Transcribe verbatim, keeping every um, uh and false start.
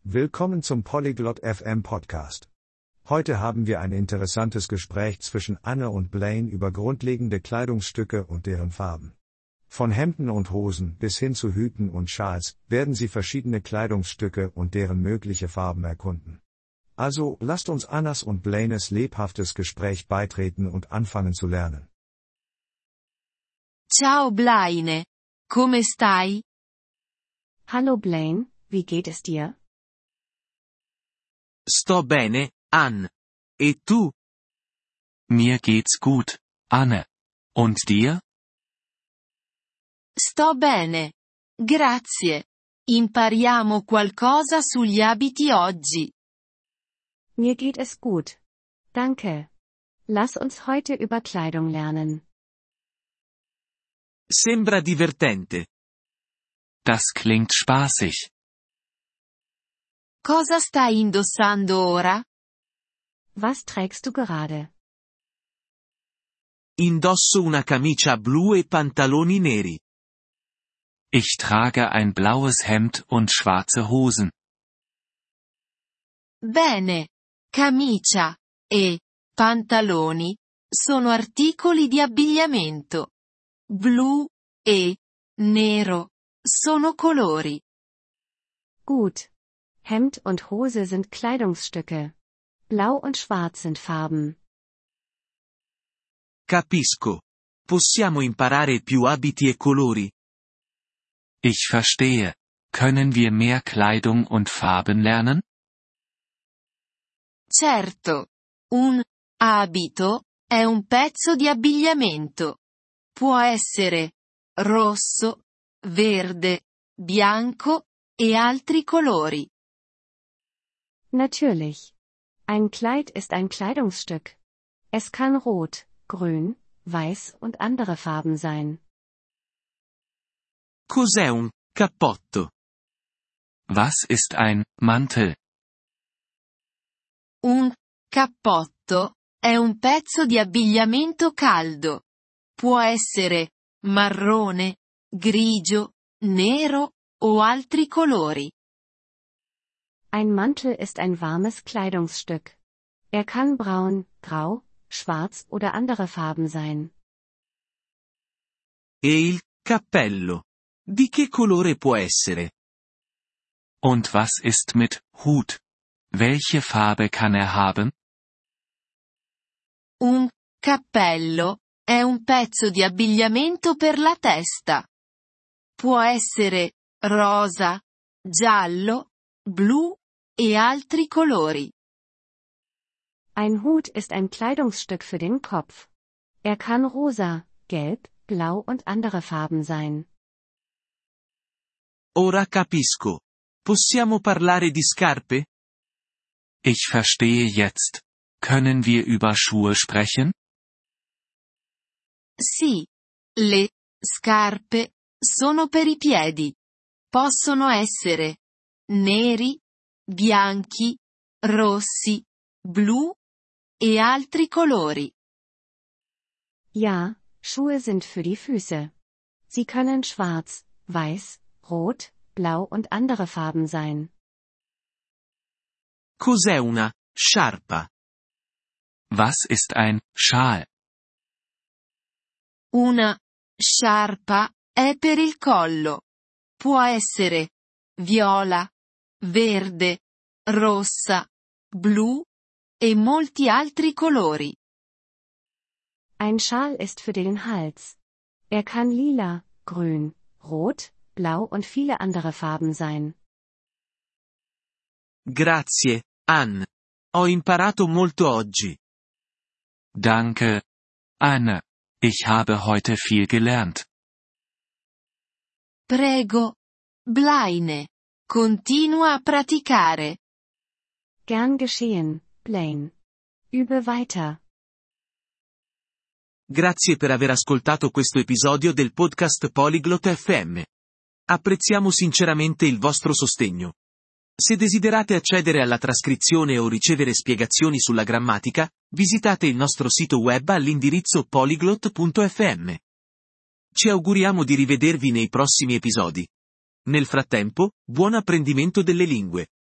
Willkommen zum Polyglot F M Podcast. Heute haben wir ein interessantes Gespräch zwischen Anne und Blaine über grundlegende Kleidungsstücke und deren Farben. Von Hemden und Hosen bis hin zu Hüten und Schals werden sie verschiedene Kleidungsstücke und deren mögliche Farben erkunden. Also, lasst uns Annas und Blaines lebhaftes Gespräch beitreten und anfangen zu lernen. Ciao Blaine, come stai? Hallo Blaine, wie geht es dir? Sto bene, Ann. E tu? Mir geht's gut, Anne. Und dir? Sto bene. Grazie. Impariamo qualcosa sugli abiti oggi. Mir geht es gut. Danke. Lass uns heute über Kleidung lernen. Sembra divertente. Das klingt spaßig. Cosa stai indossando ora? Was trägst du gerade? Indosso una camicia blu e pantaloni neri. Ich trage ein blaues Hemd und schwarze Hosen. Bene. Camicia e pantaloni sono articoli di abbigliamento. Blu e nero sono colori. Gut. Hemd und Hose sind Kleidungsstücke. Blau und Schwarz sind Farben. Capisco. Possiamo imparare più abiti e colori? Ich verstehe. Können wir mehr Kleidung und Farben lernen? Certo. Un abito è un pezzo di abbigliamento. Può essere rosso, verde, bianco e altri colori. Natürlich. Ein Kleid ist ein Kleidungsstück. Es kann rot, grün, weiß und andere Farben sein. Cos'è un cappotto? Was ist ein Mantel? Un cappotto è un pezzo di abbigliamento caldo. Può essere marrone, grigio, nero o altri colori. Ein Mantel ist ein warmes Kleidungsstück. Er kann braun, grau, schwarz oder andere Farben sein. E il cappello? Di che colore può essere? Und was ist mit Hut? Welche Farbe kann er haben? Un cappello è un pezzo di abbigliamento per la testa. Può essere rosa, giallo, blu e altri colori. Ein Hut ist ein Kleidungsstück für den Kopf. Er kann rosa, gelb, blau und andere Farben sein. Ora capisco. Possiamo parlare di scarpe? Ich verstehe jetzt. Können wir über Schuhe sprechen? Sì. Le scarpe sono per i piedi. Possono essere neri, bianchi, rossi, blu e altri colori. Ja, Schuhe sind für die Füße. Sie können schwarz, weiß, rot, blau und andere Farben sein. Cos'è una sciarpa? Was ist ein Schal? Una sciarpa è per il collo. Può essere viola, verde, rossa, blu e molti altri colori. Ein Schal ist für den Hals. Er kann lila, grün, rot, blau und viele andere Farben sein. Grazie, Ann. Ho imparato molto oggi. Danke, Anne. Ich habe heute viel gelernt. Prego. Blaine. Continua a praticare. Gern geschehen, Blaine. Übe weiter. Grazie per aver ascoltato questo episodio del podcast Polyglot F M. Apprezziamo sinceramente il vostro sostegno. Se desiderate accedere alla trascrizione o ricevere spiegazioni sulla grammatica, visitate il nostro sito web all'indirizzo polyglot punto f m. Ci auguriamo di rivedervi nei prossimi episodi. Nel frattempo, buon apprendimento delle lingue.